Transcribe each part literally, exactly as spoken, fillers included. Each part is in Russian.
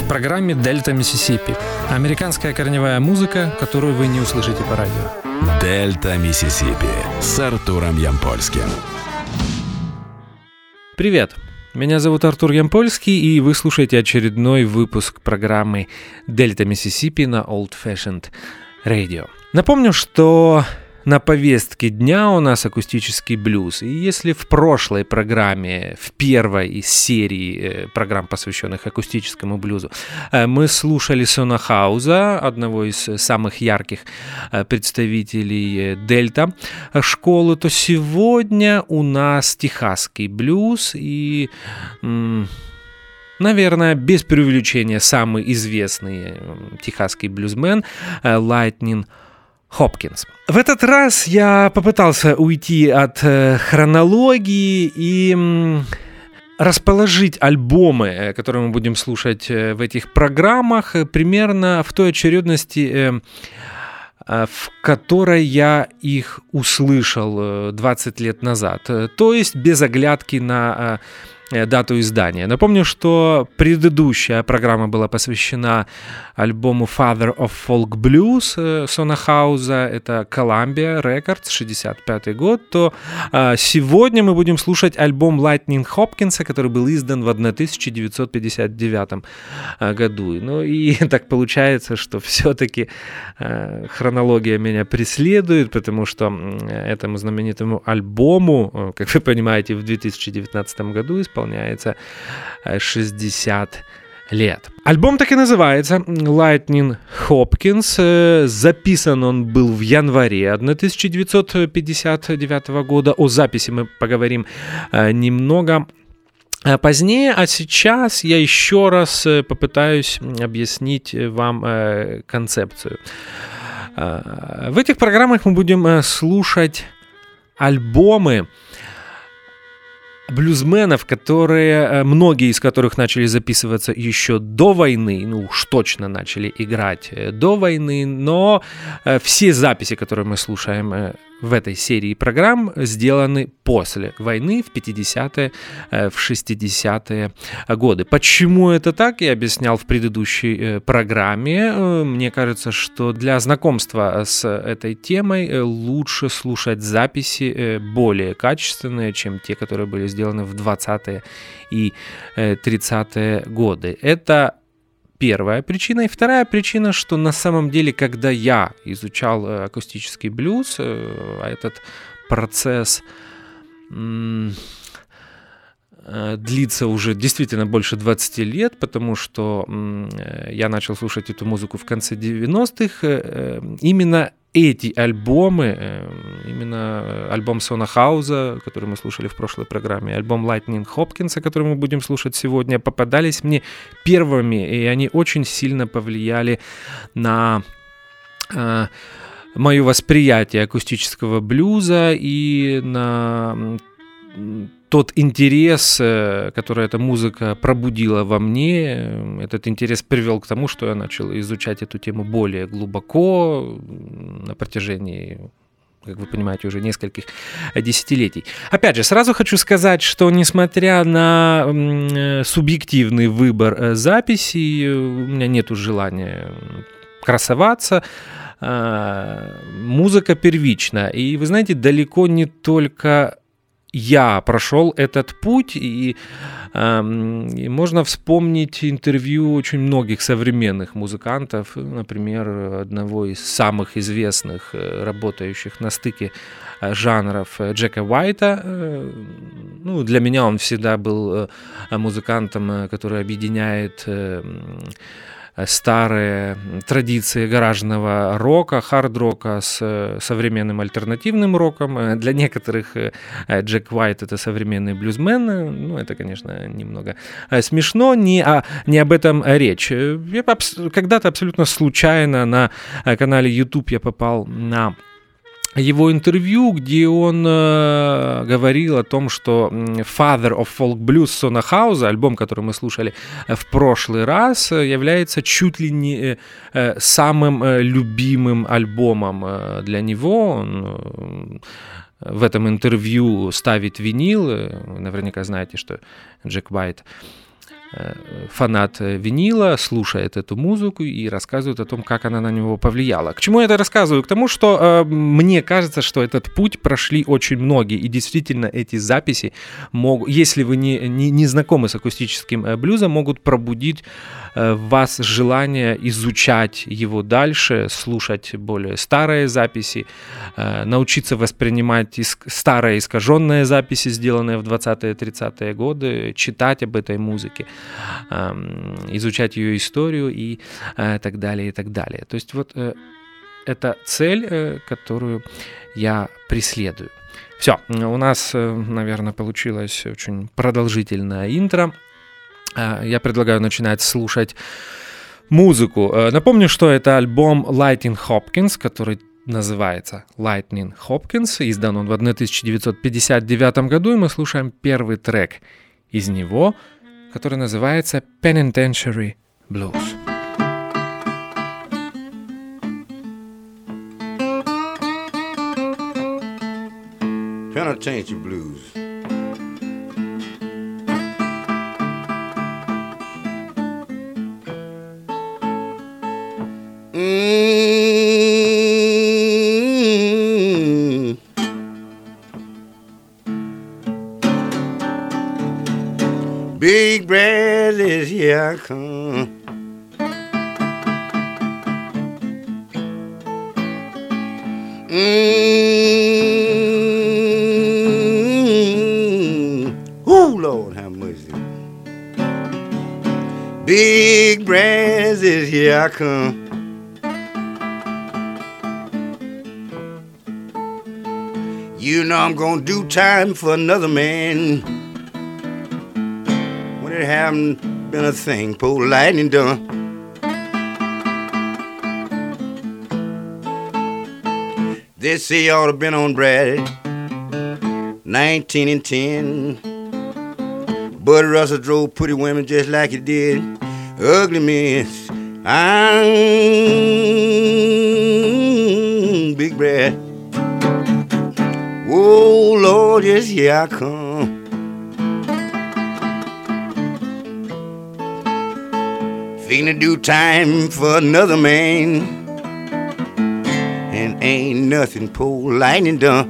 программе «Дельта Миссисипи». Американская корневая музыка, которую вы не услышите по радио. «Дельта Миссисипи» с Артуром Ямпольским. Привет! Меня зовут Артур Ямпольский, и вы слушаете очередной выпуск программы «Дельта Миссисипи» на Old Fashioned Radio. Напомню, что на повестке дня у нас акустический блюз. И если в прошлой программе, в первой из серии программ, посвященных акустическому блюзу, мы слушали Сона Хауза, одного из самых ярких представителей дельта школы, то сегодня у нас техасский блюз и... наверное, без преувеличения, самый известный техасский блюзмен Lightning Hopkins. В этот раз я попытался уйти от э, хронологии и м, расположить альбомы, которые мы будем слушать э, в этих программах, э, примерно в той очередности, э, э, в которой я их услышал э, двадцать лет назад. Э, то есть без оглядки на... Э, дату издания. Напомню, что предыдущая программа была посвящена альбому Father of Folk Blues Сона Хауза, это Columbia Records, шестьдесят пятый год, то а, сегодня мы будем слушать альбом Lightning Hopkins, который был издан в тысяча девятьсот пятьдесят девятом году. Ну и так получается, что все-таки а, хронология меня преследует, потому что этому знаменитому альбому, как вы понимаете, в две тысячи девятнадцатом году исполняется исполняется шестьдесят лет. Альбом так и называется Lightning Hopkins. Записан он был в январе тысяча девятьсот пятьдесят девятого года. О записи мы поговорим немного позднее, а сейчас я еще раз попытаюсь объяснить вам концепцию. В этих программах мы будем слушать альбомы блюзменов, которые, многие из которых начали записываться еще до войны, ну уж точно начали играть до войны, но все записи, которые мы слушаем в этой серии программ, сделаны после войны в пятидесятые, в шестидесятые годы. Почему это так, я объяснял в предыдущей программе. Мне кажется, что для знакомства с этой темой лучше слушать записи более качественные, чем те, которые были сделаны в двадцатые и тридцатые годы. Это первая причина. И вторая причина, что на самом деле, когда я изучал акустический блюз, а этот процесс м- длится уже действительно больше двадцати лет, потому что м- я начал слушать эту музыку в конце девяностых, э- именно эти альбомы, именно альбом Сона Хауза, который мы слушали в прошлой программе, альбом Lightning Hopkins, который мы будем слушать сегодня, попадались мне первыми, и они очень сильно повлияли на э, мое восприятие акустического блюза и на тот интерес, который эта музыка пробудила во мне. Этот интерес привел к тому, что я начал изучать эту тему более глубоко на протяжении, как вы понимаете, уже нескольких десятилетий. Опять же, сразу хочу сказать, что несмотря на субъективный выбор записей, у меня нет желания красоваться. Музыка первична. И вы знаете, далеко не только я прошел этот путь, и, э, и можно вспомнить интервью очень многих современных музыкантов, например, одного из самых известных, работающих на стыке жанров, Джека Уайта. Ну, для меня он всегда был музыкантом, который объединяет старые традиции гаражного рока, хард-рока с современным альтернативным роком. Для некоторых Джек Уайт — это современный блюзмен. Ну, это, конечно, немного смешно, не, а, не об этом речь. Я когда-то абсолютно случайно на канале YouTube я попал на его интервью, где он э, говорил о том, что Father of Folk Blues Сона Хауза, альбом, который мы слушали в прошлый раз, является чуть ли не э, самым э, любимым альбомом э, для него. Он э, в этом интервью ставит винил. Вы наверняка знаете, что Джек Уайт фанат винила, слушает эту музыку и рассказывает о том, как она на него повлияла. К чему я это рассказываю? К тому, что э, мне кажется, что этот путь прошли очень многие, и действительно эти записи могут, если вы не, не, не знакомы с акустическим э, блюзом, могут пробудить э, в вас желание изучать его дальше, слушать более старые записи, э, научиться воспринимать иск- старые искаженные записи, сделанные в двадцатые-тридцатые годы, читать об этой музыке, изучать ее историю и э, так далее, и так далее. То есть вот э, это цель, э, которую я преследую. Все, у нас, э, наверное, получилось очень продолжительное интро. Э, я предлагаю начинать слушать музыку. Э, напомню, что это альбом Lightning Hopkins, который называется Lightning Hopkins. Издан он в тысяча девятьсот пятьдесят девятом году, и мы слушаем первый трек из него, который называется Penitentiary Blues. Penitentiary Blues. Mm-hmm. Big bread is here I come. Mm-hmm. Ooh, Lord have mercy. Big bread is here I come. You know I'm gonna do time for another man. It haven't been a thing poor lightning done. They say you ought to been on Brad nineteen and ten. Bud Russell drove pretty women just like he did ugly miss. I'm Big Brad. Oh Lord, yes, here I come. Finna do time for another man, and ain't nothing poor lightning done.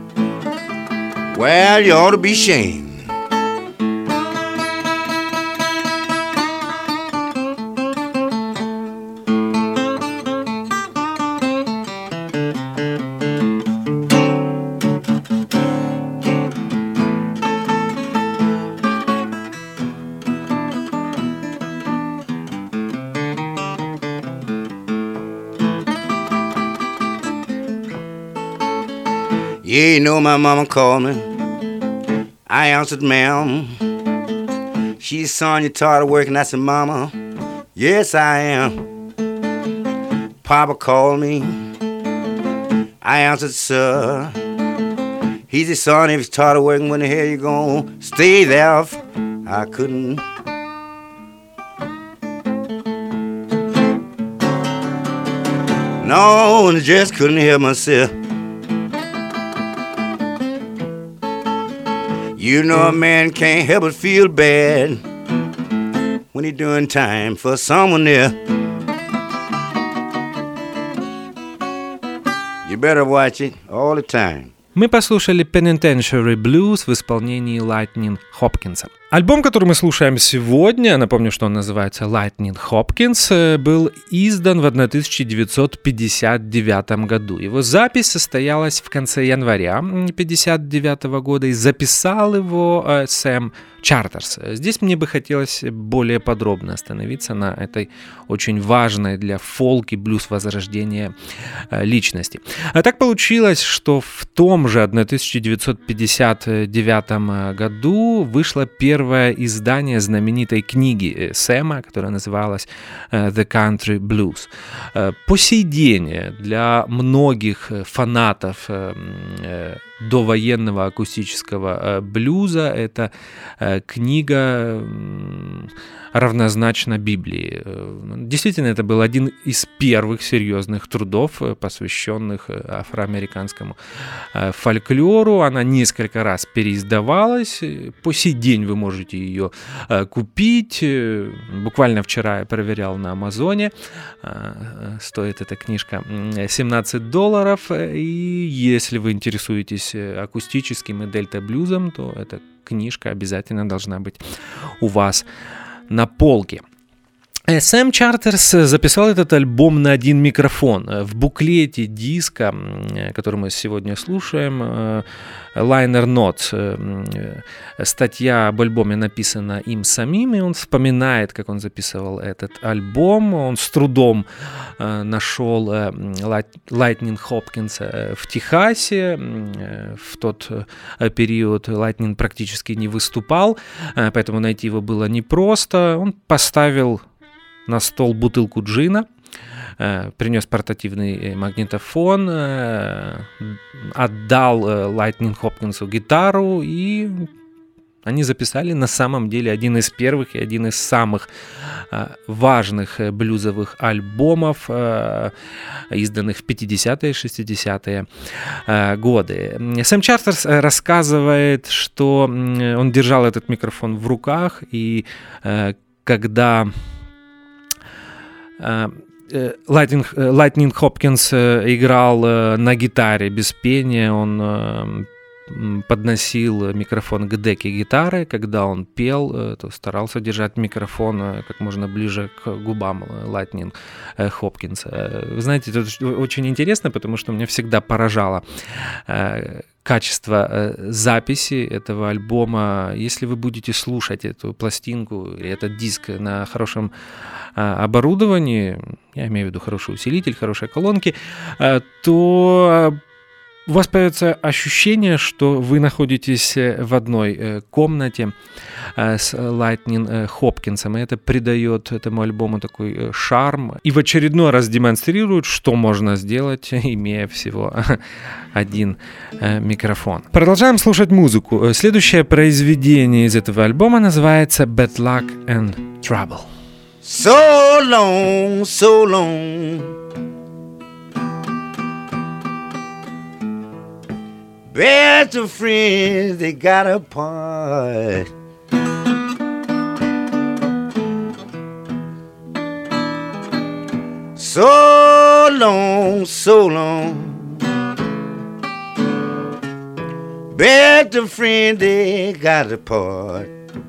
Well, you ought to be ashamed. Yeah, you know my mama called me. I answered, ma'am. She said, son, you tired of working? I said, mama, yes, I am. Papa called me. I answered, sir. He said, son, if you're tired of working, when the hell you gonna stay there? I couldn't. No, I just couldn't help myself. You know a man can't help but feel bad when he's doing time for someone there. You better watch it all the time. Мы послушали Penitentiary Blues в исполнении Lightning Hopkins. Альбом, который мы слушаем сегодня, напомню, что он называется Lightning Hopkins, был издан в тысяча девятьсот пятьдесят девятом году. Его запись состоялась в конце января пятьдесят девятого года, и записал его э, Сэм Чартерс. Здесь мне бы хотелось более подробно остановиться на этой очень важной для фолк и блюз возрождения э, личности. А так получилось, что в том же тысяча девятьсот пятьдесят девятом году вышло первое издание знаменитой книги Сэма, которая называлась The Country Blues. По сей день для многих фанатов довоенного акустического блюза. Это книга равнозначна Библии. Действительно, это был один из первых серьезных трудов, посвященных афроамериканскому фольклору. Она несколько раз переиздавалась. По сей день вы можете ее купить. Буквально вчера я проверял на Амазоне. Стоит эта книжка семнадцать долларов. И если вы интересуетесь акустическим и дельта-блюзом, то эта книжка обязательно должна быть у вас на полке. Сэм Чартерс записал этот альбом на один микрофон. В буклете диска, который мы сегодня слушаем, Liner Notes, статья об альбоме написана им самим, и он вспоминает, как он записывал этот альбом. Он с трудом нашел Lightning Hopkins в Техасе. В тот период Lightning практически не выступал, поэтому найти его было непросто. Он поставил на стол бутылку джина, принес портативный магнитофон, отдал Lightning Hopkins'у гитару, и они записали на самом деле один из первых и один из самых важных блюзовых альбомов, изданных в пятидесятые и шестидесятые годы. Сэм Чартерс рассказывает, что он держал этот микрофон в руках, и когда Lightning, Lightning Hopkins играл на гитаре без пения, он подносил микрофон к деке гитары. Когда он пел, то старался держать микрофон как можно ближе к губам Lightning Hopkins. Вы знаете, это очень интересно, потому что меня всегда поражало качество записи этого альбома. Если вы будете слушать эту пластинку, этот диск на хорошем оборудовании, я имею в виду хороший усилитель, хорошие колонки, то у вас появится ощущение, что вы находитесь в одной комнате с Lightning Hopkins'ом, и это придает этому альбому такой шарм и в очередной раз демонстрирует, что можно сделать, имея всего один микрофон. Продолжаем слушать музыку. Следующее произведение из этого альбома называется Bad Luck and Trouble. So long, so long, best of friends, they got apart. So long, so long, best of friends, they got apart.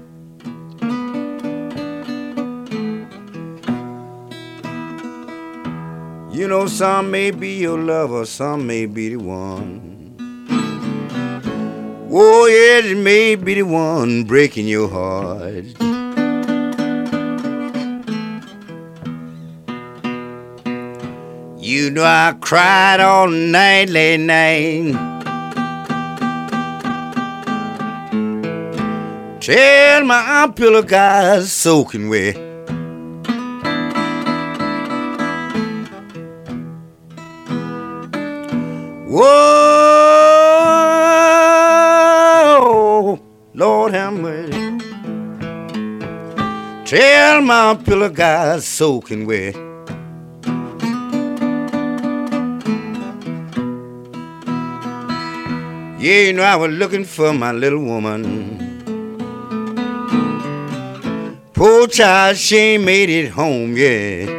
You know, some may be your lover, some may be the one. Oh, yes, it may be the one breaking your heart. You know, I cried all night last night. Till my pillow got soaking wet. Whoa, Lord have mercy. Till my pillow got soaking wet. Yeah, you know, I was looking for my little woman. Poor child, she ain't made it home yet.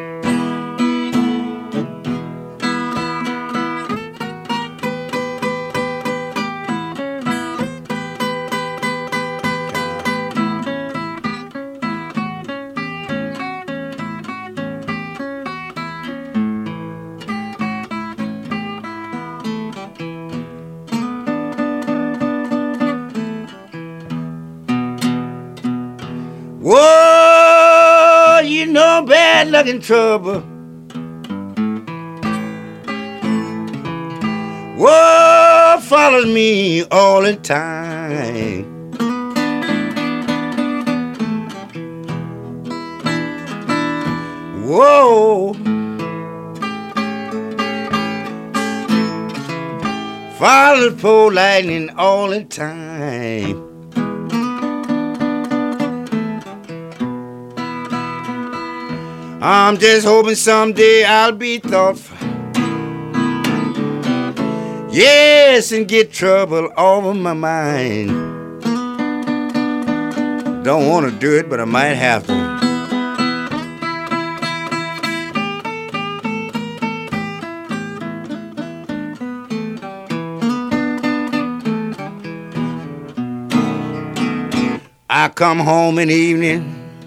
Whoa, you know, bad luck and trouble. Whoa, follows me all the time. Whoa, Follow the poor lightning all the time. I'm just hoping someday I'll be thoughtful. Yes, and get trouble over my mind. Don't want to do it, but I might have to. I come home in the evening,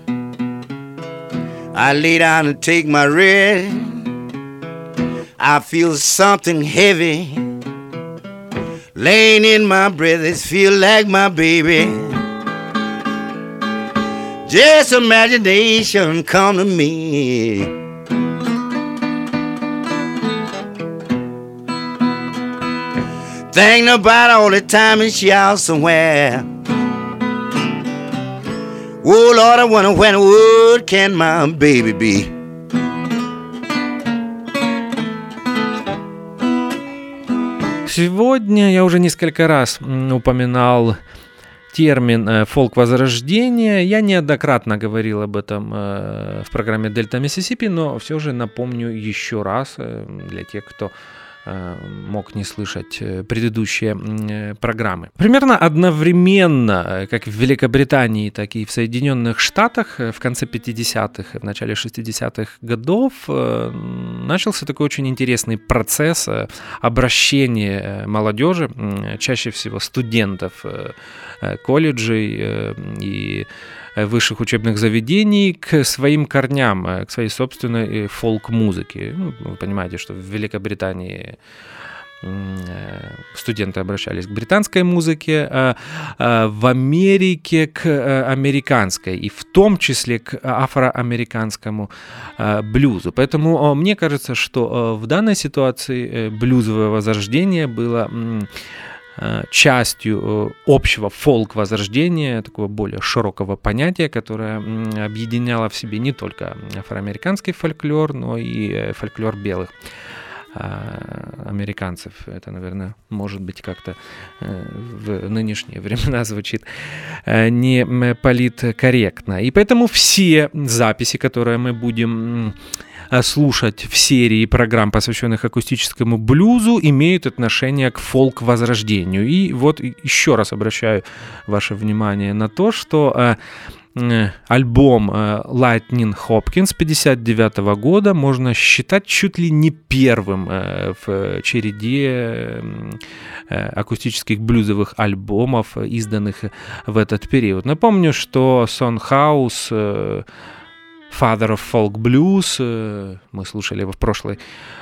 I lay down and take my rest. I feel something heavy laying in my breath. It feel like my baby. Just imagination come to me. Thinking about all the time and she out somewhere. Oh Lord, I wonder when would can my baby be? Сегодня я уже несколько раз упоминал термин «фолк-возрождение». Я неоднократно говорил об этом в программе «Дельта Миссисипи», но все же напомню еще раз для тех, кто мог не слышать предыдущие программы. Примерно одновременно, как в Великобритании, так и в Соединенных Штатах, в конце пятидесятых и в начале шестидесятых годов начался такой очень интересный процесс обращения молодежи, чаще всего студентов колледжей и высших учебных заведений, к своим корням, к своей собственной фолк-музыке. Ну, вы понимаете, что в Великобритании студенты обращались к британской музыке, а в Америке к американской, и в том числе к афроамериканскому блюзу. Поэтому мне кажется, что в данной ситуации блюзовое возрождение было частью общего фолк-возрождения, такого более широкого понятия, которое объединяло в себе не только афроамериканский фольклор, но и фольклор белых американцев. Это, наверное, может быть как-то в нынешние времена звучит не политкорректно. И поэтому все записи, которые мы будем слушать в серии программ, посвященных акустическому блюзу, имеют отношение к фолк-возрождению. И вот еще раз обращаю ваше внимание на то, что альбом Lightning Hopkins пятьдесят девятого года можно считать чуть ли не первым в череде акустических блюзовых альбомов, изданных в этот период. Напомню, что Son House, Father of Folk Blues, мы слушали его в прошлой,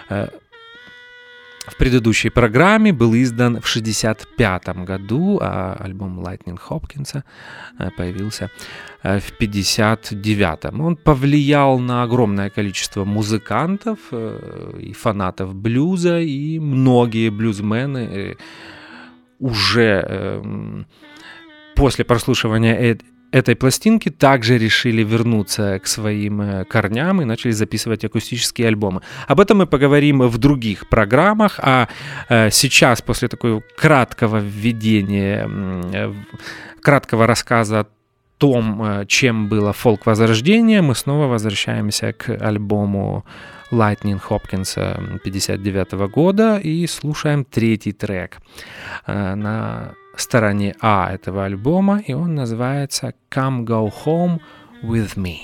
в предыдущей программе, был издан в шестьдесят пятом году, а альбом Lightning Hopkins появился в пятьдесят девятом. Он повлиял на огромное количество музыкантов и фанатов блюза, и многие блюзмены уже после прослушивания этой пластинки также решили вернуться к своим корням и начали записывать акустические альбомы. Об этом мы поговорим в других программах, а сейчас, после такого краткого введения, краткого рассказа о том, чем было фолк-возрождение, мы снова возвращаемся к альбому Lightning Hopkins пятьдесят девятого года и слушаем третий трек на стороне А этого альбома, и он называется «Come Go Home With Me».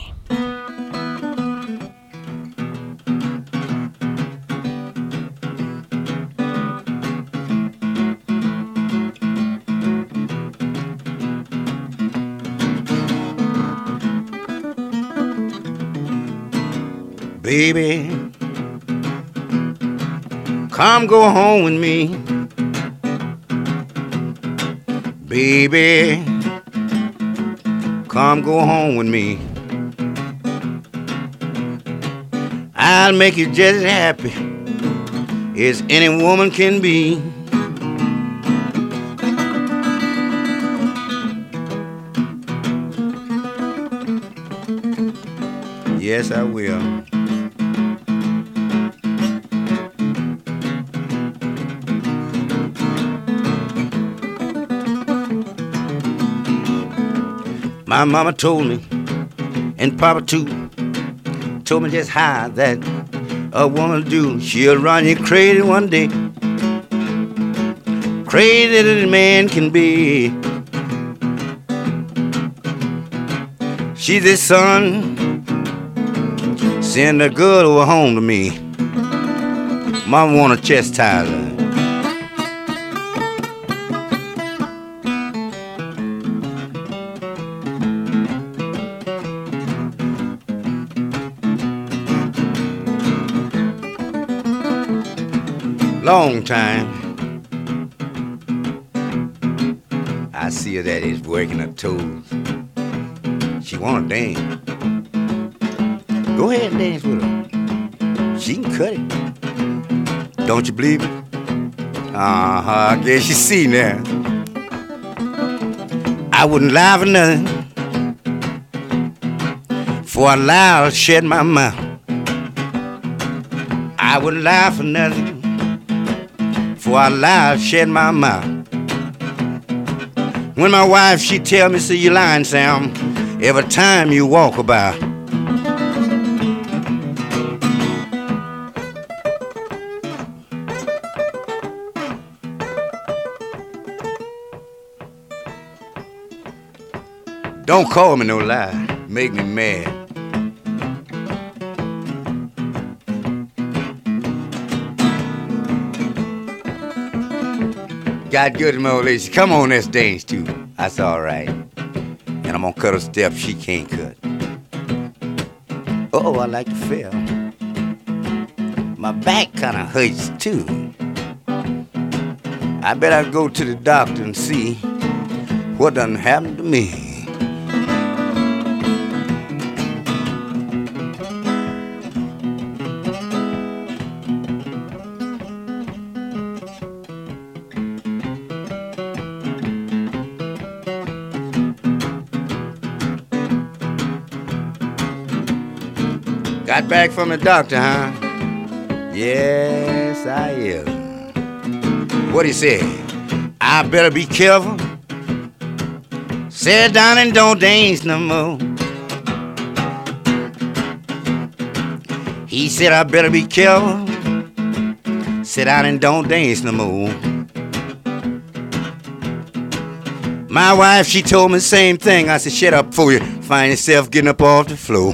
Baby, come go home with me. Baby, come go home with me. I'll make you just as happy as any woman can be. Yes, I will. My mama told me, and Papa too, told me just how that a woman do. She'll run you crazy one day, crazy that a man can be. She's the son, send a girl over home to me. Mama wanna chastise her. Long time I see her that is working her toes. She wanna dance. Go ahead and dance with her. She can cut it. Don't you believe it? Uh-huh, I guess you see now. I wouldn't lie for nothing, for I lie, I'll shed my mouth. I wouldn't lie for nothing, for I lie, I'll shed my mouth. When my wife, she tell me, say you lying, Sam, every time you walk about. Don't call me no lie, make me mad. Got good as my old lady. Come on, let's dance too. That's all right. And I'm gonna cut a step she can't cut. Oh, I like to feel. My back kinda hurts too. I better go to the doctor and see what done happened to me. Got back from the doctor, huh? Yes, I am. What he say? I better be careful. Sit down and don't dance no more. He said I better be careful. Sit down and don't dance no more. My wife, she told me the same thing. I said, shut up before you find yourself getting up off the floor.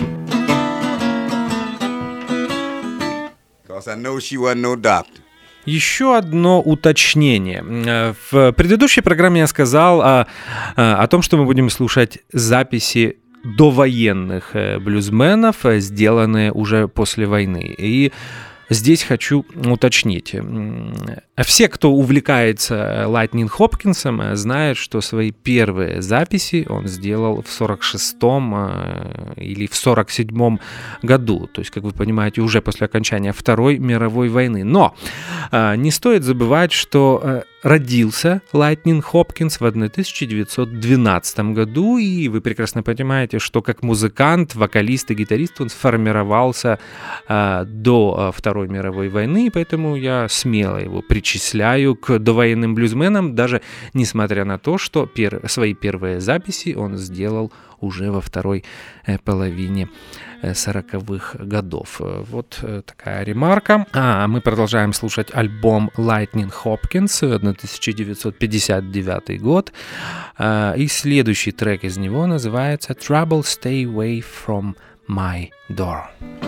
I know she wasn't no doctor. Еще одно уточнение. В предыдущей программе я сказал о, о том, что мы будем слушать записи довоенных блюзменов, сделанные уже после войны. И здесь хочу уточнить. Все, кто увлекается Лайтнинг Хопкинсом, знают, что свои первые записи он сделал в сорок шестом или в сорок седьмом году. То есть, как вы понимаете, уже после окончания Второй мировой войны. Но не стоит забывать, что родился Лайтнинг Хопкинс в тысяча девятьсот двенадцатом году, и вы прекрасно понимаете, что как музыкант, вокалист и гитарист он сформировался до Второй мировой войны, поэтому я смело его причисляю к довоенным блюзменам, даже несмотря на то, что пер... свои первые записи он сделал уже во второй половине сороковых годов. Вот такая ремарка. А мы продолжаем слушать альбом Lightning Hopkins, тысяча девятьсот пятьдесят девятый год. И следующий трек из него называется Trouble Stay Away From My Door.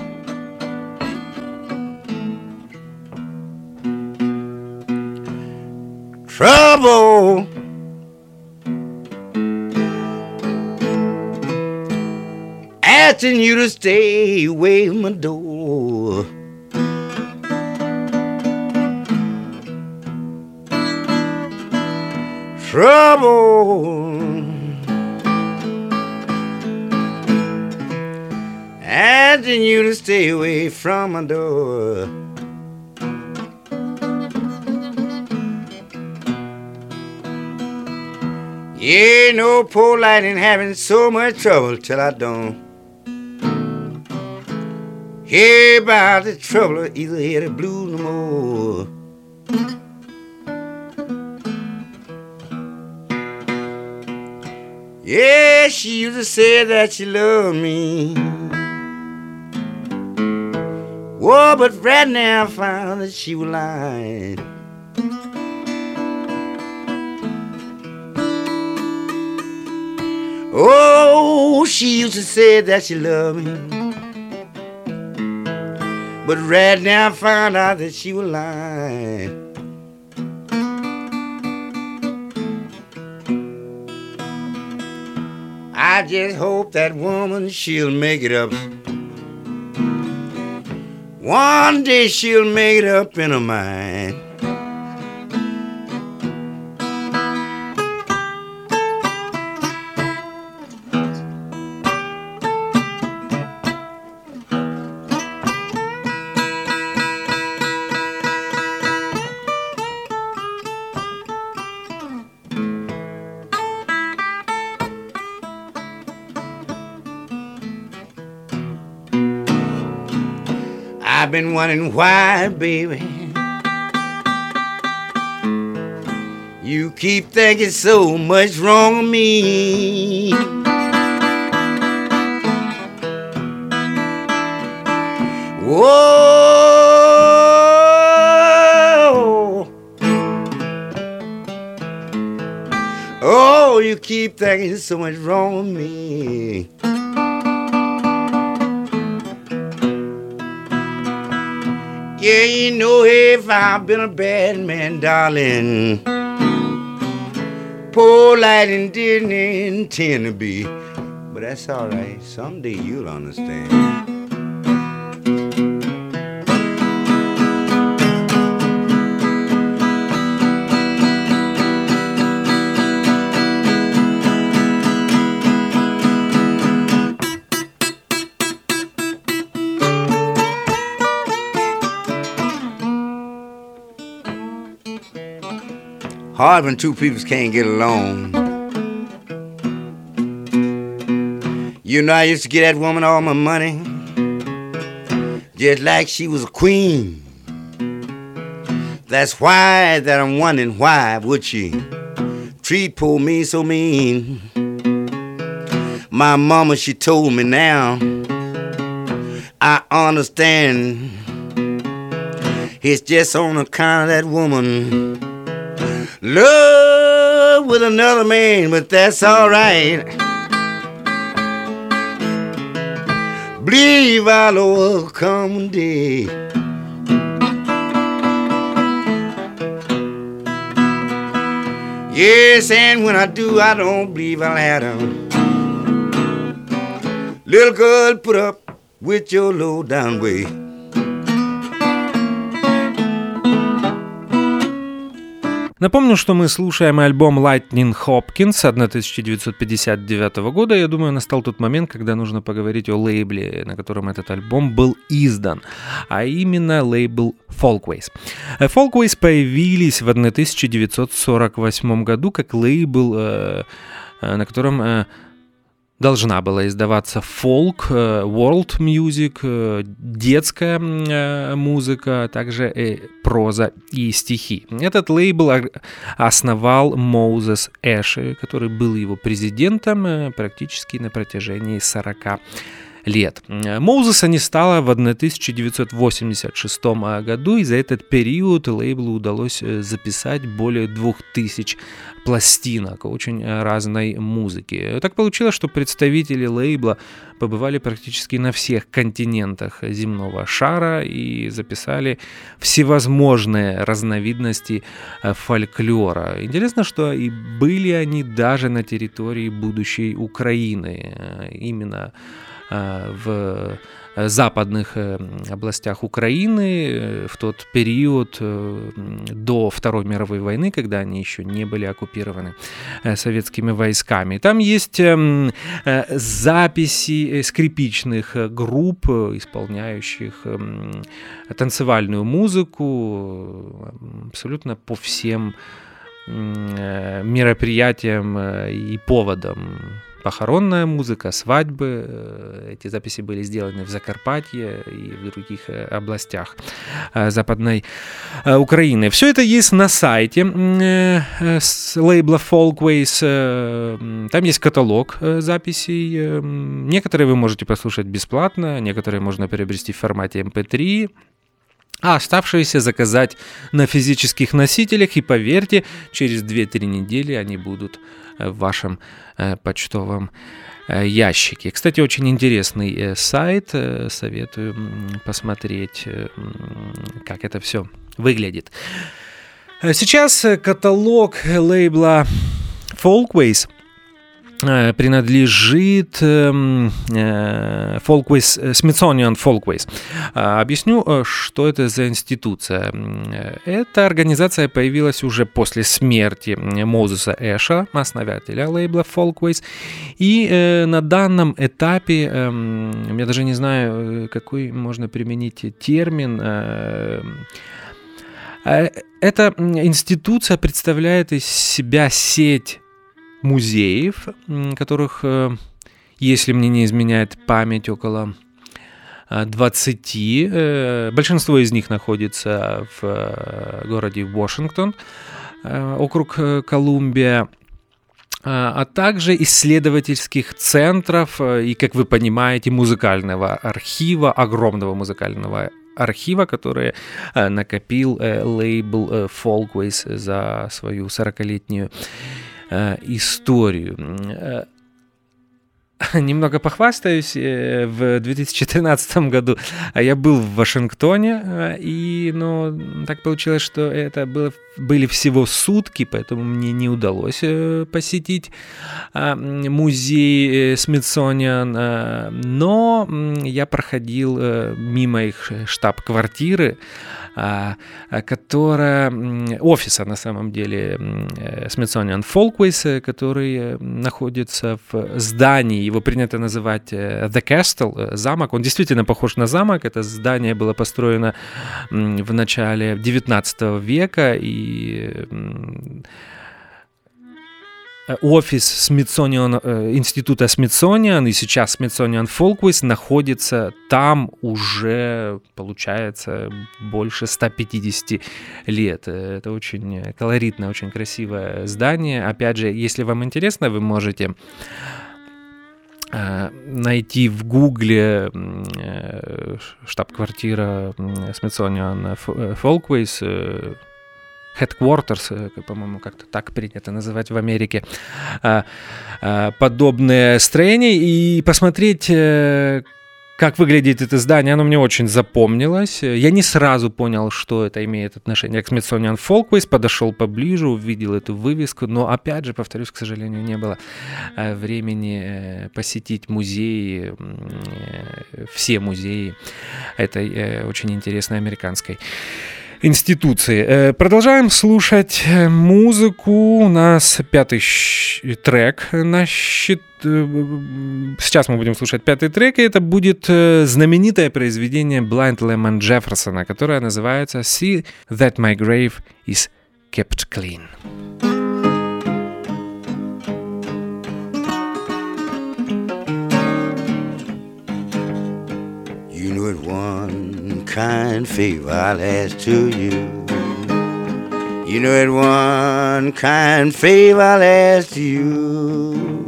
Trouble asking you to stay away from my door. Trouble asking you to stay away from my door. Yeah, no poor Lightning having so much trouble till I don't hear about the trouble or either hear the blues no more. Yeah, she used to say that she loved me. Whoa, but right now I found that she was lying. Oh, she used to say that she loved me. But right now I found out that she was lying. I just hope that woman, she'll make it up. One day she'll make it up in her mind. I've been wondering why, baby, you keep thinking so much wrong of me. Whoa, oh, you keep thinking so much wrong with me. Yeah, you know if I've been a bad man, darling, poor Lightning didn't intend to be. But that's all right. Someday you'll understand. Hard when two people can't get along. You know I used to get that woman all my money, just like she was a queen. That's why that I'm wondering why would she treat poor me so mean. My mama, she told me now, I understand. It's just on account of that woman love with another man, but that's all right. Believe I'll overcome one day. Yes, and when I do, I don't believe I'll have them. Little girl, put up with your low down way. Напомню, что мы слушаем альбом Lightning Hopkins тысяча девятьсот пятьдесят девятого года. Я думаю, настал тот момент, когда нужно поговорить о лейбле, на котором этот альбом был издан, а именно лейбл Folkways. Folkways появились в тысяча девятьсот сорок восьмом году как лейбл, на котором должна была издаваться фолк, world music, детская музыка, а также проза и стихи. Этот лейбл основал Моузес Эши, который был его президентом практически на протяжении сорока лет. Моузеса не стало в тысяча девятьсот восемьдесят шестом году, и за этот период лейблу удалось записать более двух тысяч пластинок очень разной музыки. Так получилось, что представители лейбла побывали практически на всех континентах земного шара и записали всевозможные разновидности фольклора. Интересно, что и были они даже на территории будущей Украины. Именно в западных областях Украины в тот период до Второй мировой войны, когда они еще не были оккупированы советскими войсками. Там есть записи скрипичных групп, исполняющих танцевальную музыку абсолютно по всем мероприятиям и поводам. похоронная музыка, свадьбы. Эти записи были сделаны в Закарпатье и в других областях Западной Украины. Все это есть на сайте с лейбла Folkways. Там есть каталог записей. Некоторые вы можете послушать бесплатно, некоторые можно приобрести в формате эм пэ три. А оставшиеся заказать на физических носителях, и поверьте, через две-три недели они будут в вашем почтовом ящике. Кстати, очень интересный сайт, советую посмотреть, как это все выглядит. Сейчас каталог лейбла Folkways принадлежит э, Folkways, Smithsonian Folkways. Объясню, что это за институция. Эта организация появилась уже после смерти Мозеса Эша, основателя лейбла Folkways. И э, на данном этапе, э, я даже не знаю, какой можно применить термин, э, эта институция представляет из себя сеть музеев, которых, если мне не изменяет память, около двадцати. Большинство из них находится в городе Вашингтон, округ Колумбия, а также исследовательских центров и, как вы понимаете, музыкального архива, огромного музыкального архива, который накопил лейбл Folkways за свою сорокалетнюю историю. Немного похвастаюсь. В две тысячи тринадцатом году я был в Вашингтоне, и ну, так получилось, что это было, были всего сутки, поэтому мне не удалось посетить музей Смитсониан, но я проходил мимо их штаб-квартиры, которая, офиса на самом деле Smithsonian Folkways, который находится в здании, его принято называть The Castle, замок. Он действительно похож на замок. Это здание было построено в начале девятнадцатого века, и офис Smithsonian, института Smithsonian и сейчас Smithsonian Folkways находится там уже, получается, больше ста пятидесяти лет. Это очень колоритное, очень красивое здание. Опять же, если вам интересно, вы можете найти в Гугле штаб-квартира Smithsonian Folkways, Headquarters, по-моему, как-то так принято называть в Америке, подобное строение, и посмотреть, как выглядит это здание. Оно мне очень запомнилось. Я не сразу понял, что это имеет отношение к Smithsonian Folkways, подошел поближе, увидел эту вывеску, но, опять же, повторюсь, к сожалению, не было времени посетить музеи, все музеи этой очень интересной американской институции. Продолжаем слушать музыку. У нас пятый трек на счет. Сейчас мы будем слушать пятый трек, и это будет знаменитое произведение Blind Lemon Jefferson, которое называется See That My Grave Is Kept Clean. You know it one kind favor I'll ask to you. You know it one kind favor I'll ask to you.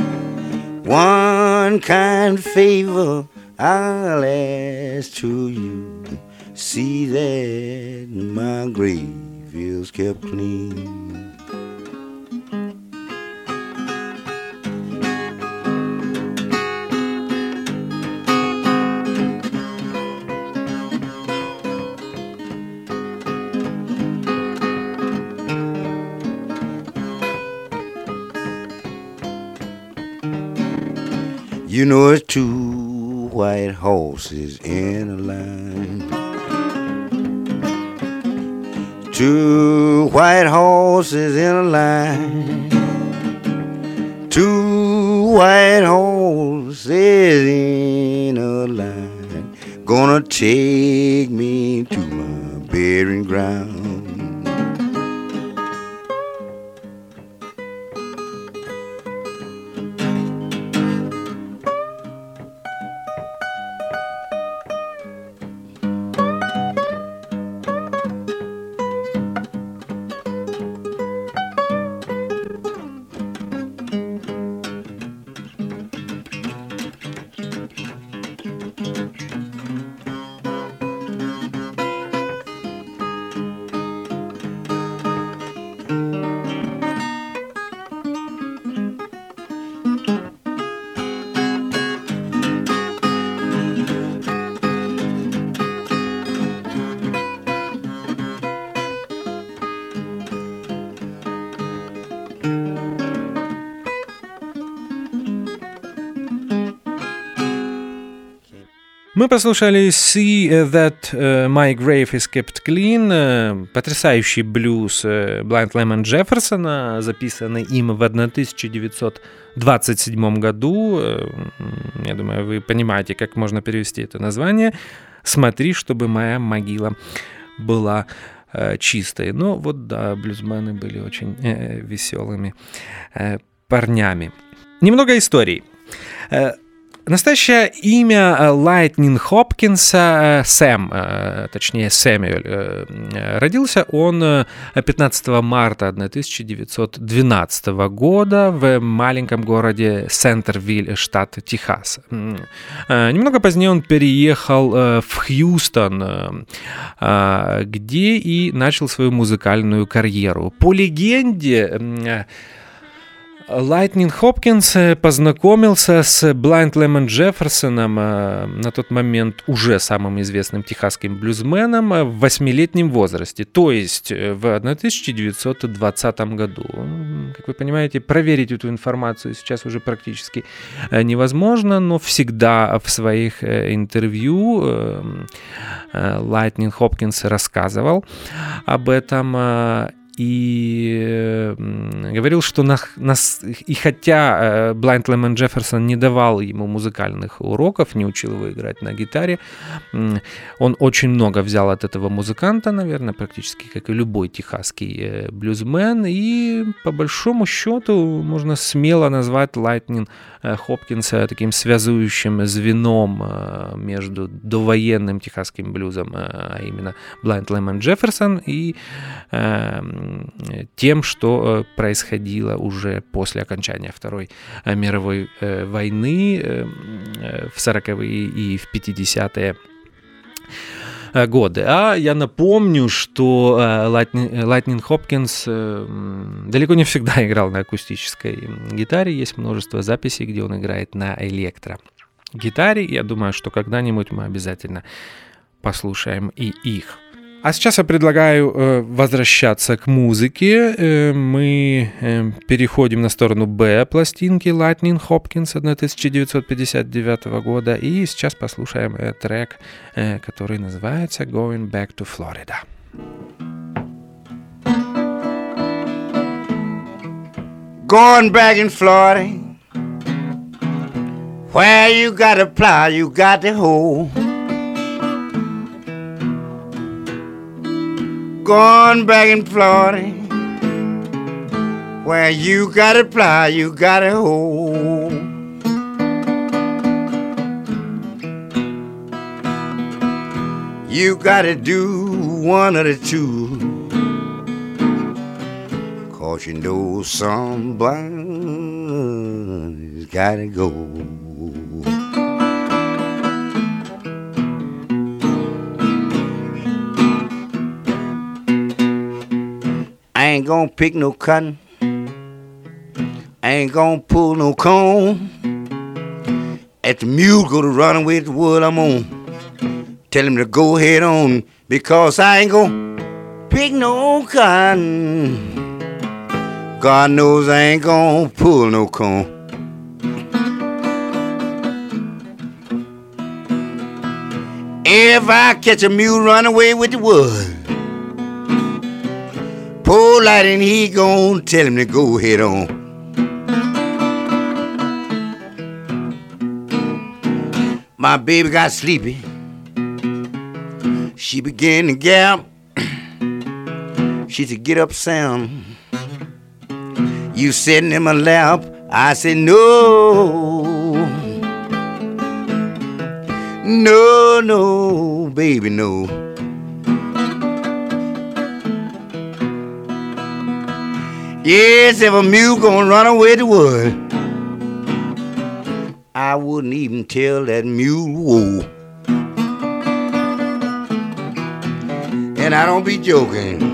One kind favor I'll ask to you. See that my grave is kept clean. You know it's two white horses in a line. Two white horses in a line. Two white horses in a line. Gonna take me to my burying ground. Мы послушали «See That My Grave Is Kept Clean», потрясающий блюз Blind Lemon Jefferson, записанный им в тысяча девятьсот двадцать седьмом году. Я думаю, вы понимаете, как можно перевести это название. «Смотри, чтобы моя могила была чистой». Ну вот да, блюзмены были очень веселыми парнями. Немного историй. Настоящее имя Лайтнин Хопкинса Сэм, точнее Сэмюэль. Родился он пятнадцатого марта тысяча девятьсот двенадцатого года в маленьком городе Сентервиль, штат Техас. Немного позднее он переехал в Хьюстон, где и начал свою музыкальную карьеру. По легенде, Лайтнин Хопкинс познакомился с Blind Lemon Jefferson, на тот момент уже самым известным техасским блюзменом, в восьмилетнем возрасте, то есть в тысяча девятьсот двадцатом году. Как вы понимаете, проверить эту информацию сейчас уже практически невозможно, но всегда в своих интервью Лайтнин Хопкинс рассказывал об этом. И говорил, что на, на, и хотя Blind Lemon Jefferson не давал ему музыкальных уроков, не учил его играть на гитаре, он очень много взял от этого музыканта, наверное, практически как и любой техасский блюзмен, и по большому счету можно смело назвать Лайтнин Хопкинса таким связующим звеном между довоенным техасским блюзом, а именно Blind Lemon Jefferson, и тем, что происходило уже после окончания Второй мировой войны в сороковые и в пятидесятые годы. А я напомню, что Лайтнин Хопкинс далеко не всегда играл на акустической гитаре. Есть множество записей, где он играет на электрогитаре. Я думаю, что когда-нибудь мы обязательно послушаем и их. А сейчас я предлагаю э, возвращаться к музыке. Э, мы э, переходим на сторону Б пластинки Лайтнин Хопкинс тысяча девятьсот пятьдесят девятого года. И сейчас послушаем э, трек, э, который называется «Going Back to Florida». Going back in Florida, where you got to plow, you got to hoe. Going back in Florida, where you gotta plow, you gotta hoe. You gotta do one of the two, 'cause you know somebody's gotta go. I ain't gonna pick no cotton, I ain't gonna pull no corn. If the mule go to run away with the wood I'm on, tell him to go head on, because I ain't gonna pick no cotton. God knows I ain't gonna pull no corn. If I catch a mule run away with the wood, poor Lightning, he gon' tell him to go head on. My baby got sleepy, she began to gap. She said, get up, Sam, you sitting in my lap. I said, no, no, no, baby, no. Yes, if a mule gonna run away to wood, I wouldn't even tell that mule whoa. And I don't be joking.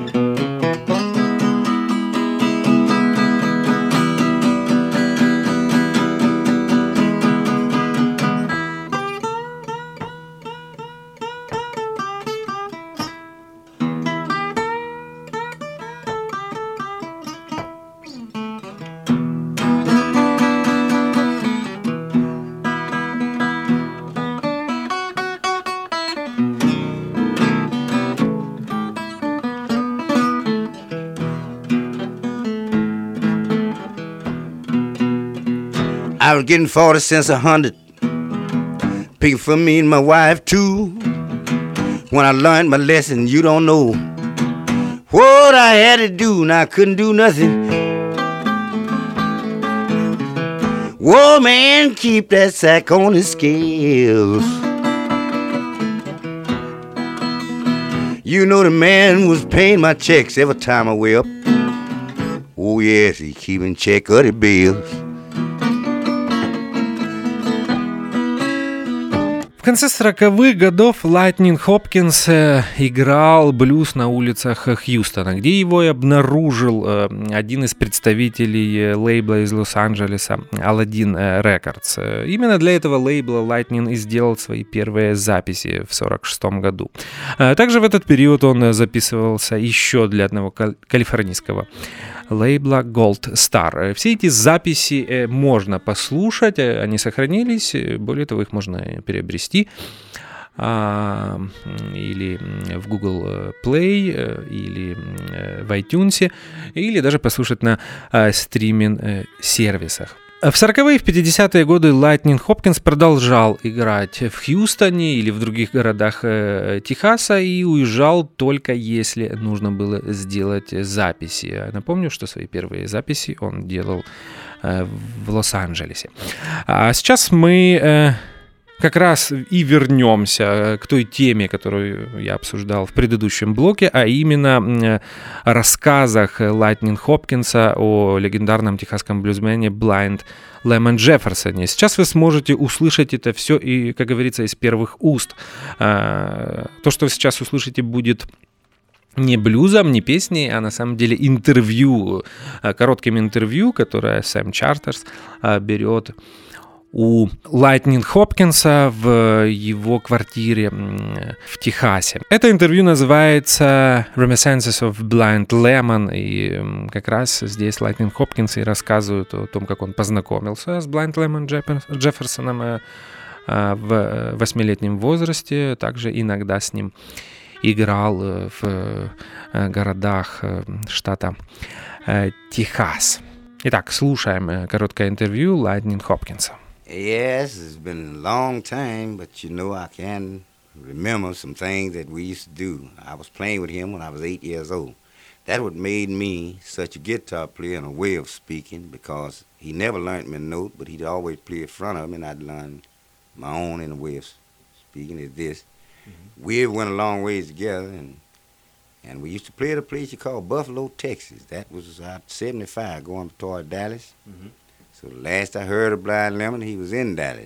I was getting forty cents a hundred, picking for me and my wife too. When I learned my lesson, you don't know what I had to do, and I couldn't do nothing. Whoa, man, keep that sack on the scales. You know the man was paying my checks every time I way up. Oh yes, he keeping check of the bills. В конце сороковых годов Лайтнинг Хопкинс играл блюз на улицах Хьюстона, где его и обнаружил один из представителей лейбла из Лос-Анджелеса Aladdin Records. Именно для этого лейбла Лайтнинг и сделал свои первые записи в сорок шестом году. Также в этот период он записывался еще для одного калифорнийского лейбла Gold Star. Все эти записи можно послушать, они сохранились, более того, их можно приобрести а, или в Google Play, или в iTunes, или даже послушать на а, стриминг-сервисах. В сороковые и в пятидесятые годы Лайтнинг Хопкинс продолжал играть в Хьюстоне или в других городах э, Техаса и уезжал только если нужно было сделать записи. Напомню, что свои первые записи он делал э, в Лос-Анджелесе. А сейчас мы э, как раз и вернемся к той теме, которую я обсуждал в предыдущем блоке, а именно рассказах Лайтнинг Хопкинса о легендарном техасском блюзмене Blind Lemon Jefferson. Сейчас вы сможете услышать это все, и, как говорится, из первых уст. То, что вы сейчас услышите, будет не блюзом, не песней, а на самом деле интервью, коротким интервью, которое Сэм Чартерс берет у Лайтнинг Хопкинса в его квартире в Техасе. Это интервью называется Reminiscences of Blind Lemon, и как раз здесь Лайтнинг Хопкинс и рассказывает о том, как он познакомился с Blind Lemon Джефферсоном в восьмилетнем возрасте, также иногда с ним играл в городах штата Техас. Итак, слушаем короткое интервью Лайтнинг Хопкинса. Yes, it's been a long time, but you know I can remember some things that we used to do. I was playing with him when I was eight years old. That what made me such a guitar player in a way of speaking, because he never learned me a note, but he'd always play in front of me, and I'd learn my own in a way of speaking is this. Mm-hmm. We went a long ways together, and and we used to play at a place you call Buffalo, Texas. That was out seventy-five going toward Dallas. Mm-hmm. So the last I heard of Blind Lemon, he was in Dallas.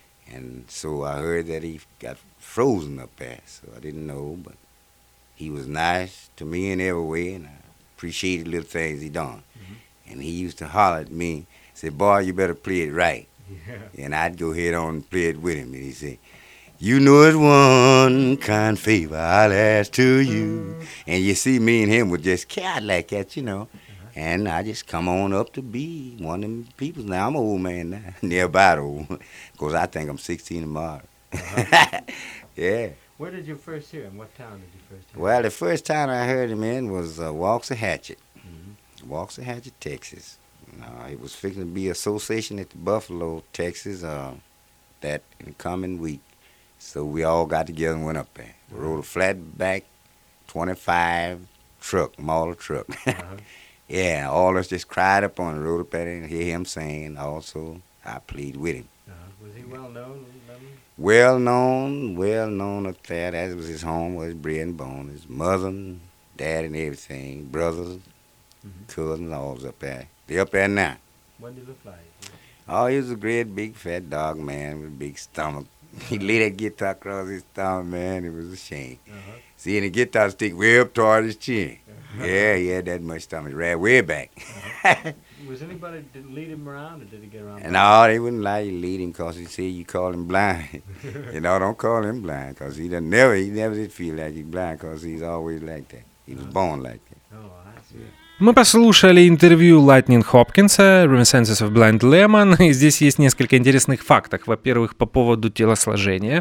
And so I heard that he got frozen up there. So I didn't know, but he was nice to me in every way, and I appreciated little things he done. Mm-hmm. And he used to holler at me, say, boy, you better play it right. Yeah. And I'd go ahead on and play it with him. And he'd say, you know it's one kind favor I'll ask to you. And you see, me and him would just cat like that, you know. And I just come on up to be one of them people. Now, I'm an old man now, nearby old, because I think I'm sixteen tomorrow. Uh-huh. Yeah. Where did you first hear him? What town did you first hear him? Well, the first time I heard him in was uh, Waxahachie. Mm-hmm. Waxahachie, Texas. Uh, it was fixing to be association at the Buffalo, Texas, uh, that coming week. So we all got together and went up there. We rode a flatback twenty-five truck, model truck. Uh-huh. Yeah, all of us just cried up on the road up there and hear him sing. Also, I played with him. Uh-huh. Was he well known? Well known, well known up there. That was his home, was his bread and bone. His mother and dad and everything, brothers, mm-hmm. cousins, all was up there. They up there now. What did he look like? Oh, he was a great, big, fat dog man with a big stomach. He laid that guitar across his stomach, man. It was a shame. Uh-huh. See, and the guitar stick way up toward his chin. Uh-huh. Yeah, he had that much stomach, right way back. Uh-huh. Was anybody didn't lead him around, or did he get around? No, they wouldn't allow you to lead him because he said you call him blind. You know, don't call him blind because he done never, he never did feel like he's blind because he's always like that. He was born like that. Oh, I see. Мы послушали интервью Лайтнинг Хопкинса Reminiscences of Blind Lemon, и здесь есть несколько интересных фактов. Во-первых, по поводу телосложения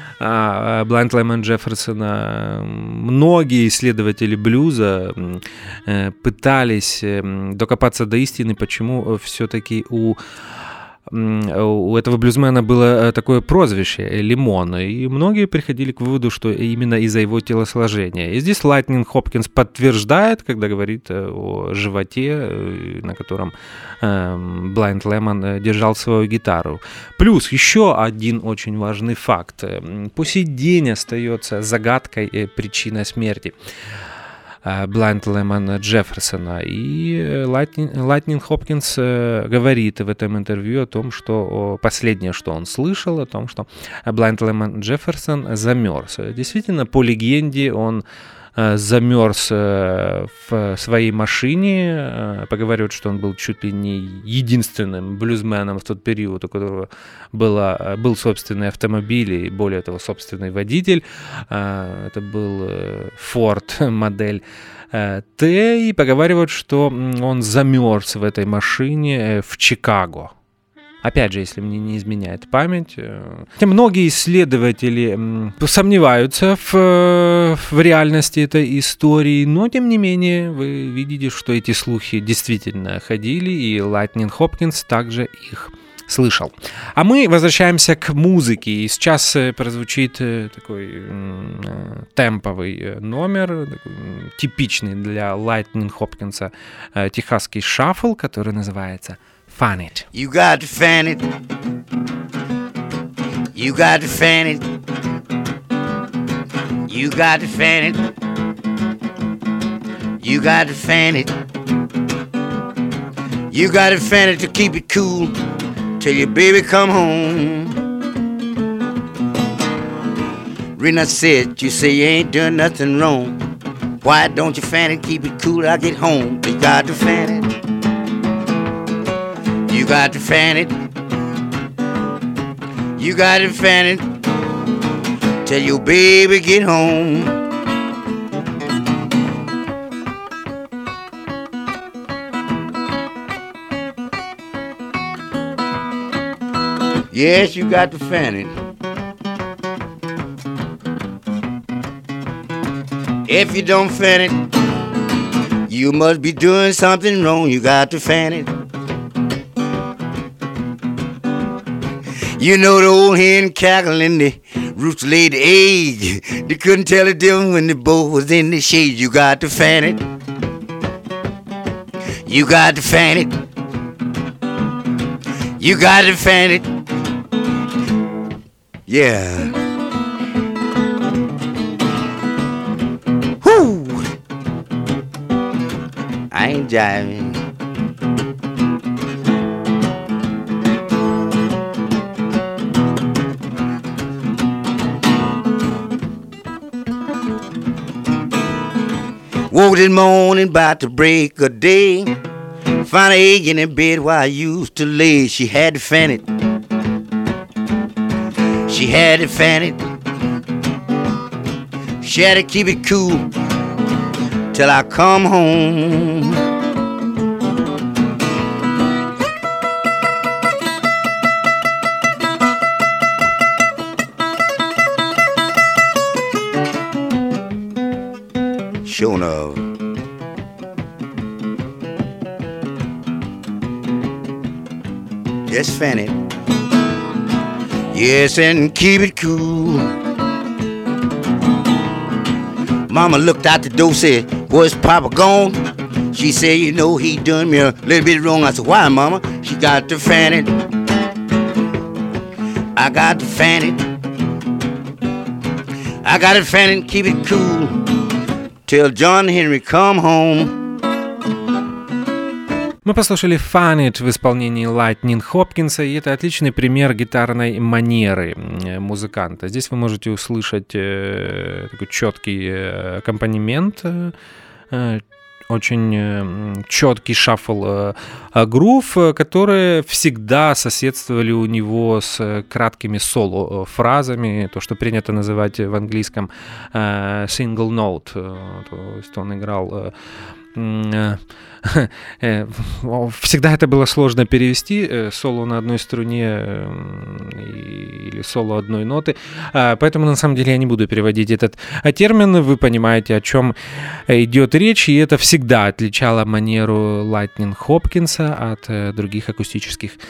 Blind Lemon Джефферсона. Многие исследователи блюза пытались докопаться до истины, почему все-таки у у этого блюзмена было такое прозвище «Лимон», и многие приходили к выводу, что именно из-за его телосложения. И здесь Lightning Hopkins подтверждает, когда говорит о животе, на котором Blind Lemon держал свою гитару. Плюс еще один очень важный факт. По сей день остается загадкой причина смерти Blind Lemon Джефферсона. И Lightning, Lightning Hopkins говорит в этом интервью о том, что последнее, что он слышал, о том, что Blind Lemon Джефферсон замерз. Действительно, по легенде, он замерз в своей машине. Поговаривают, что он был чуть ли не единственным блюзменом в тот период, у которого было, был собственный автомобиль и, более того, собственный водитель. Это был Ford модель Т. И поговаривают, что он замерз в этой машине в Чикаго. Опять же, если мне не изменяет память. Многие исследователи сомневаются в, в реальности этой истории, но, тем не менее, вы видите, что эти слухи действительно ходили, и Lightning Hopkins также их слышал. А мы возвращаемся к музыке. И сейчас прозвучит такой темповый номер, такой, типичный для Lightning Hopkins техасский шаффл, который называется Fan It. You got to fan it. You got to fan it. You got to fan it. You got to fan it. You got to fan it to keep it cool till your baby come home. Rena said, you say you ain't done nothing wrong. Why don't you fan it, keep it cool till I get home? You got to fan it. You got to fan it. You got to fan it till your baby get home. Yes, you got to fan it. If you don't fan it, you must be doing something wrong. You got to fan it. You know the old hen cackling, the rooster laid the egg. They couldn't tell the difference when the both was in the shade. You got to fan it. You got to fan it. You got to fan it. Yeah. Whoo! I ain't jiving. Woke this morning about to break a day. Found an egg in the bed where I used to lay. She had to fan it. She had to fan it. She had to keep it cool till I come home. Sure enough. Just fan it. Yes, and keep it cool. Mama looked out the door, said, "Where's Papa gone?" She said, "You know, he done me a little bit wrong." I said, "Why, Mama?" She got to fan it. I got to fan it. I got to fan it and keep it cool till John Henry come home. Мы послушали Fan It в исполнении Lightning Hopkins, и это отличный пример гитарной манеры музыканта. Здесь вы можете услышать э, такой четкий э, аккомпанемент, э, очень э, четкий шаффл э, грув, которые всегда соседствовали у него с краткими соло-фразами, то, что принято называть в английском э, single note, то есть он играл... Э, Всегда это было сложно перевести, соло на одной струне или соло одной ноты, поэтому на самом деле я не буду переводить этот термин, вы понимаете, о чем идет речь, и это всегда отличало манеру Lightning Hopkins от других акустических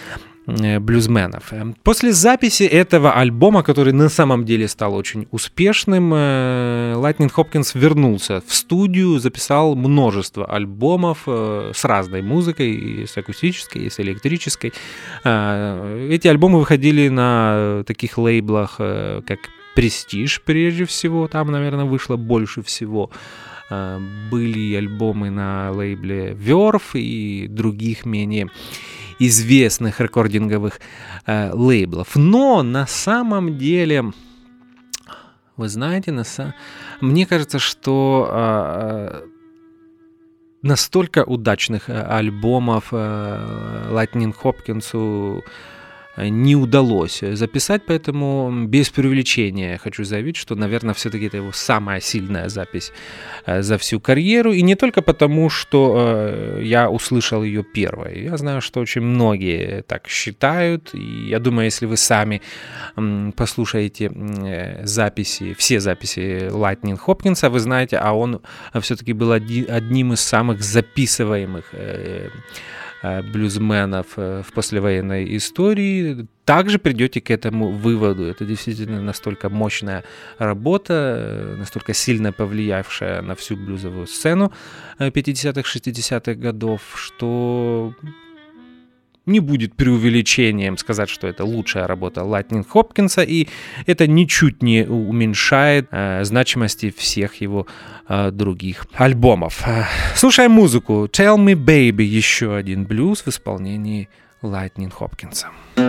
блюзменов. После записи этого альбома, который на самом деле стал очень успешным, Lightning Hopkins вернулся в студию, записал множество альбомов с разной музыкой, и с акустической, и с электрической. Эти альбомы выходили на таких лейблах, как Prestige, прежде всего, там, наверное, вышло больше всего. Были альбомы на лейбле Verve и других менее известных рекординговых э, лейблов. Но на самом деле, вы знаете, на са... мне кажется, что э, настолько удачных альбомов э, Lightning Hopkins'у не удалось записать, поэтому без преувеличения хочу заявить, что, наверное, все-таки это его самая сильная запись за всю карьеру. И не только потому, что я услышал ее первой. Я знаю, что очень многие так считают. И я думаю, если вы сами послушаете записи, все записи Lightning Hopkins'а, вы знаете, а он все-таки был одним из самых записываемых блюзменов в послевоенной истории, также придете к этому выводу. Это действительно настолько мощная работа, настолько сильно повлиявшая на всю блюзовую сцену пятидесятых, шестидесятых годов, что не будет преувеличением сказать, что это лучшая работа Lightning Hopkins'а, и это ничуть не уменьшает э, значимости всех его э, других альбомов. Слушаем музыку. Tell Me Baby, еще один блюз в исполнении Lightning Hopkins'а.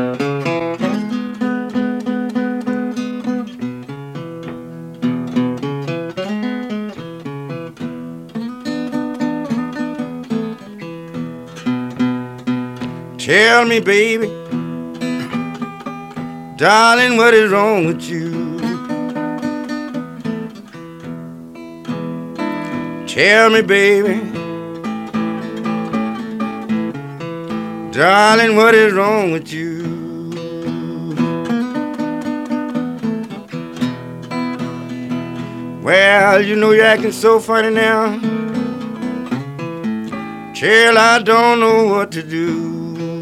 Tell me, baby, darling, what is wrong with you? Tell me, baby, darling, what is wrong with you? Well, you know you're acting so funny now. Chill, I don't know what to do.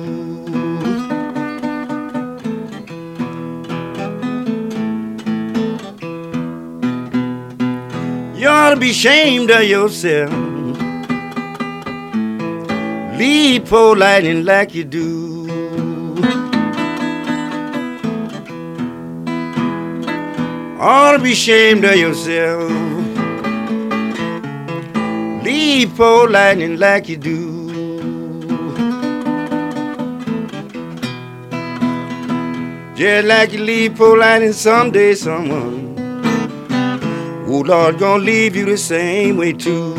You ought to be ashamed of yourself. Leave poor Lightning like you do. Ought to be ashamed of yourself. Leave poor Lightning like you do. Just like you leave poor Lightning someday, someone, oh Lord, gonna leave you the same way too.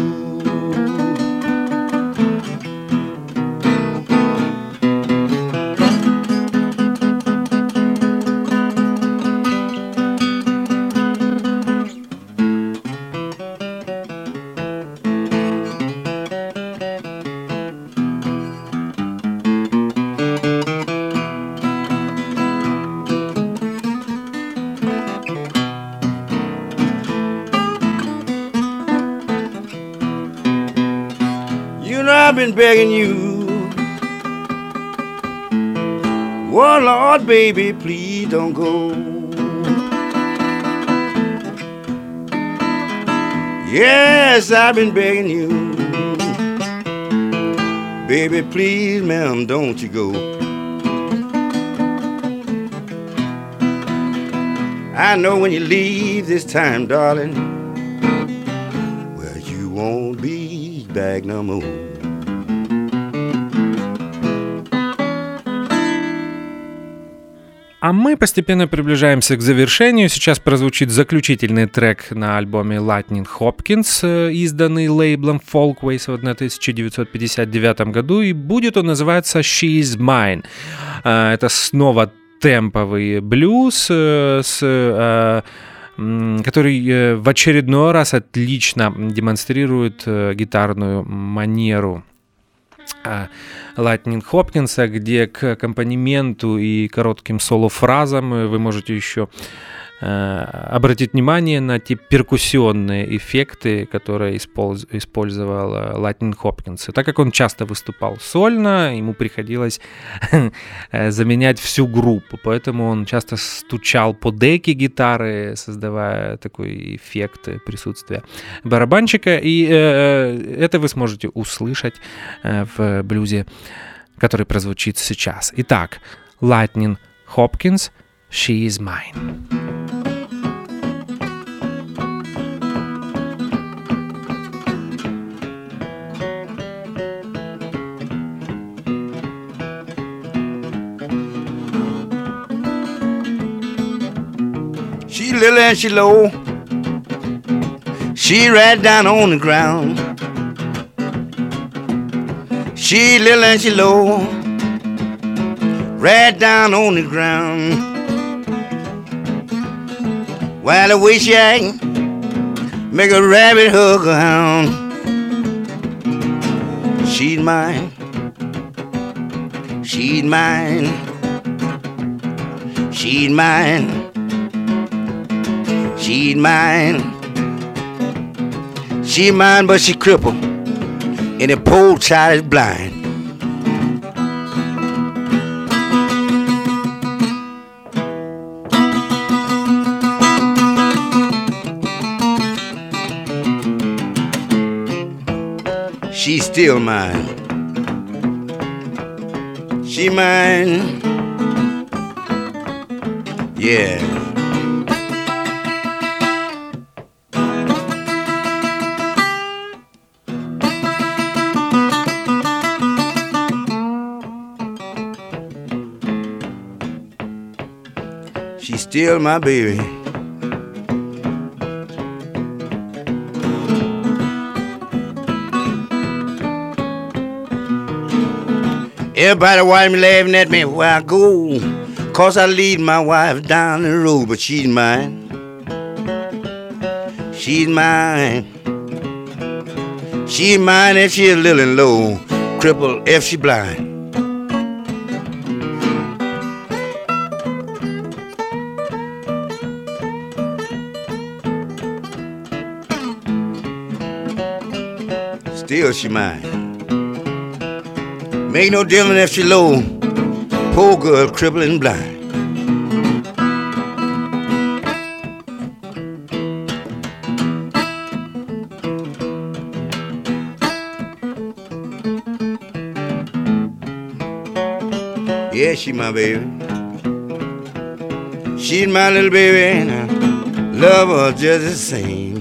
I've been begging you, oh Lord, baby, please don't go. Yes, I've been begging you, baby, please, ma'am, don't you go. I know when you leave this time, darling, well, you won't be back no more. А мы постепенно приближаемся к завершению. Сейчас прозвучит заключительный трек на альбоме Lightning Hopkins, изданный лейблом Folkways в тысяча девятьсот пятьдесят девятом году, и будет он называться She Is Mine. Это снова темповый блюз, с, который в очередной раз отлично демонстрирует гитарную манеру Lightning Hopkins'а, где к аккомпанементу и коротким соло-фразам вы можете еще обратить внимание на те перкуссионные эффекты, которые использовал Lightning Hopkins. И так как он часто выступал сольно, ему приходилось заменять всю группу, поэтому он часто стучал по деке гитары, создавая такой эффект присутствия барабанщика. И это вы сможете услышать в блюзе, который прозвучит сейчас. Итак, Lightning Hopkins, She Is Mine. She little and she low, she right down on the ground. She little and she low, right down on the ground. While the way she act, make a rabbit hug a hound. She's mine, she's mine, she's mine. She's mine. She mine, but she crippled, and the poor child is blind. She's still mine. She mine. Yeah. She's still my baby. Everybody watch me laughing at me where I go, 'cause I lead my wife down the road, but she's mine. She's mine. She's mine if she's little and low, crippled if she blind. Still she mine. Make no difference if she low, poor girl, crippled and blind. Yeah, she my baby. She's my little baby, and I love her just the same.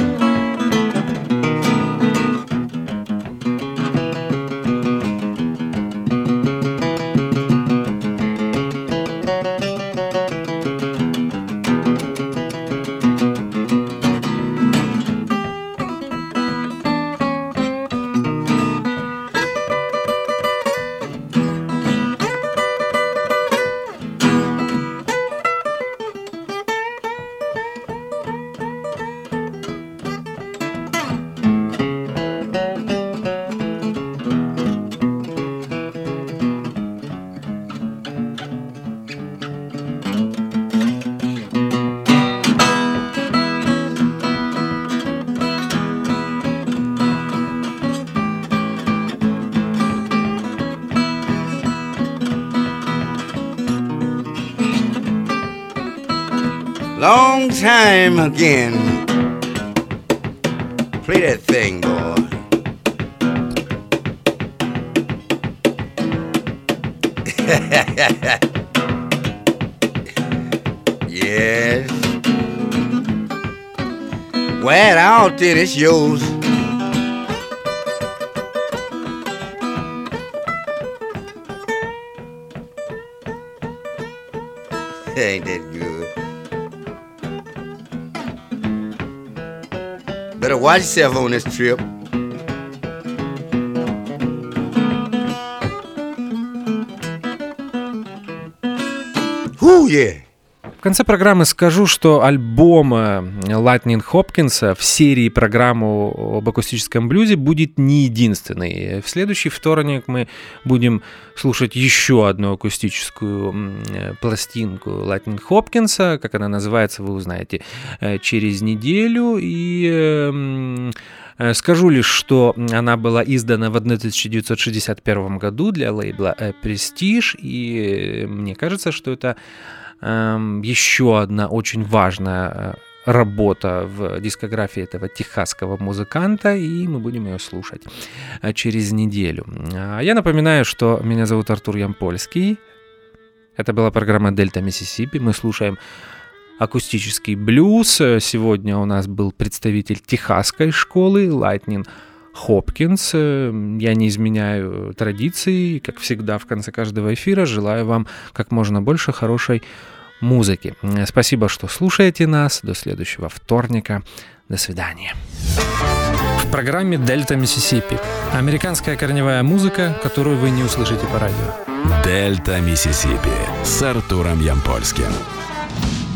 Long time again. Play that thing, boy. Yes. Well, out there, it's yours. Ain't that good? Better watch yourself on this trip. Whoo, yeah. В конце программы скажу, что альбом Lightning Hopkins в серии программу об акустическом блюзе будет не единственный. В следующий вторник мы будем слушать еще одну акустическую пластинку Lightning Hopkins. Как она называется, вы узнаете через неделю. И скажу лишь, что она была издана в тысяча девятьсот шестьдесят первом году для лейбла Prestige, и мне кажется, что это э, еще одна очень важная работа в дискографии этого техасского музыканта, и мы будем ее слушать через неделю. Я напоминаю, что меня зовут Артур Ямпольский. Это была программа «Дельта Миссисипи». Мы слушаем акустический блюз. Сегодня у нас был представитель техасской школы Lightning Hopkins. Я не изменяю традиции. Как всегда, в конце каждого эфира желаю вам как можно больше хорошей музыки. Спасибо, что слушаете нас. До следующего вторника. До свидания. В программе «Дельта Миссисипи» американская корневая музыка, которую вы не услышите по радио. «Дельта Миссисипи» с Артуром Ямпольским.